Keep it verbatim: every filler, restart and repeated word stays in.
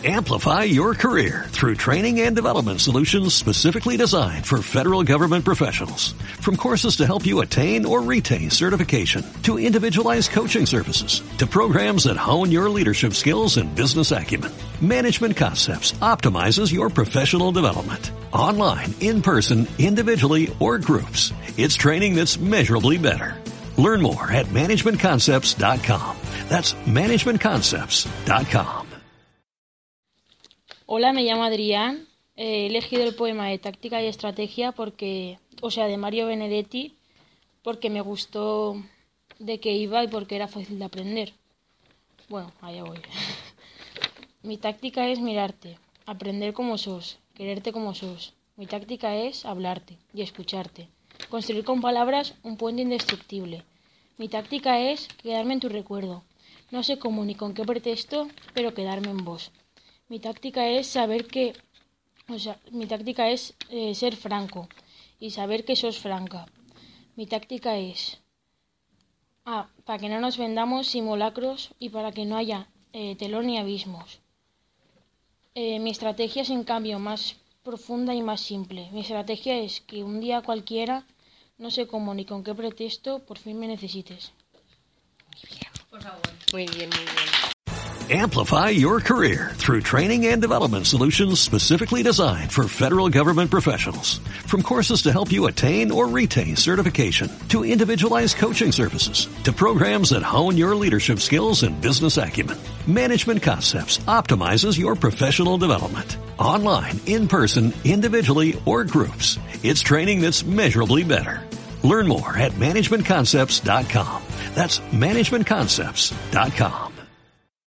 Amplify your career through training and development solutions specifically designed for federal government professionals. From courses to help you attain or retain certification, to individualized coaching services, to programs that hone your leadership skills and business acumen, Management Concepts optimizes your professional development. Online, in person, individually, or groups, it's training that's measurably better. Learn more at management concepts dot com. That's management concepts dot com. Hola, me llamo Adrián. He elegido el poema de Táctica y Estrategia porque, o sea, de Mario Benedetti, porque me gustó de qué iba y porque era fácil de aprender. Bueno, allá voy. Mi táctica es mirarte, aprender como sos, quererte como sos. Mi táctica es hablarte y escucharte, construir con palabras un puente indestructible. Mi táctica es quedarme en tu recuerdo. No sé cómo ni con qué pretexto, pero quedarme en vos. Mi táctica es saber que, o sea, mi táctica es eh, ser franco y saber que sos franca. Mi táctica es, ah, para que no nos vendamos simulacros y para que no haya eh, telón ni abismos. Eh, mi estrategia es en cambio más profunda y más simple. Mi estrategia es que un día cualquiera, no sé cómo ni con qué pretexto, por fin me necesites. Muy bien, por favor. Muy bien, muy bien. Amplify your career through training and development solutions specifically designed for federal government professionals. From courses to help you attain or retain certification, to individualized coaching services, to programs that hone your leadership skills and business acumen, Management Concepts optimizes your professional development. Online, in person, individually, or groups, it's training that's measurably better. Learn more at management concepts dot com. That's management concepts dot com.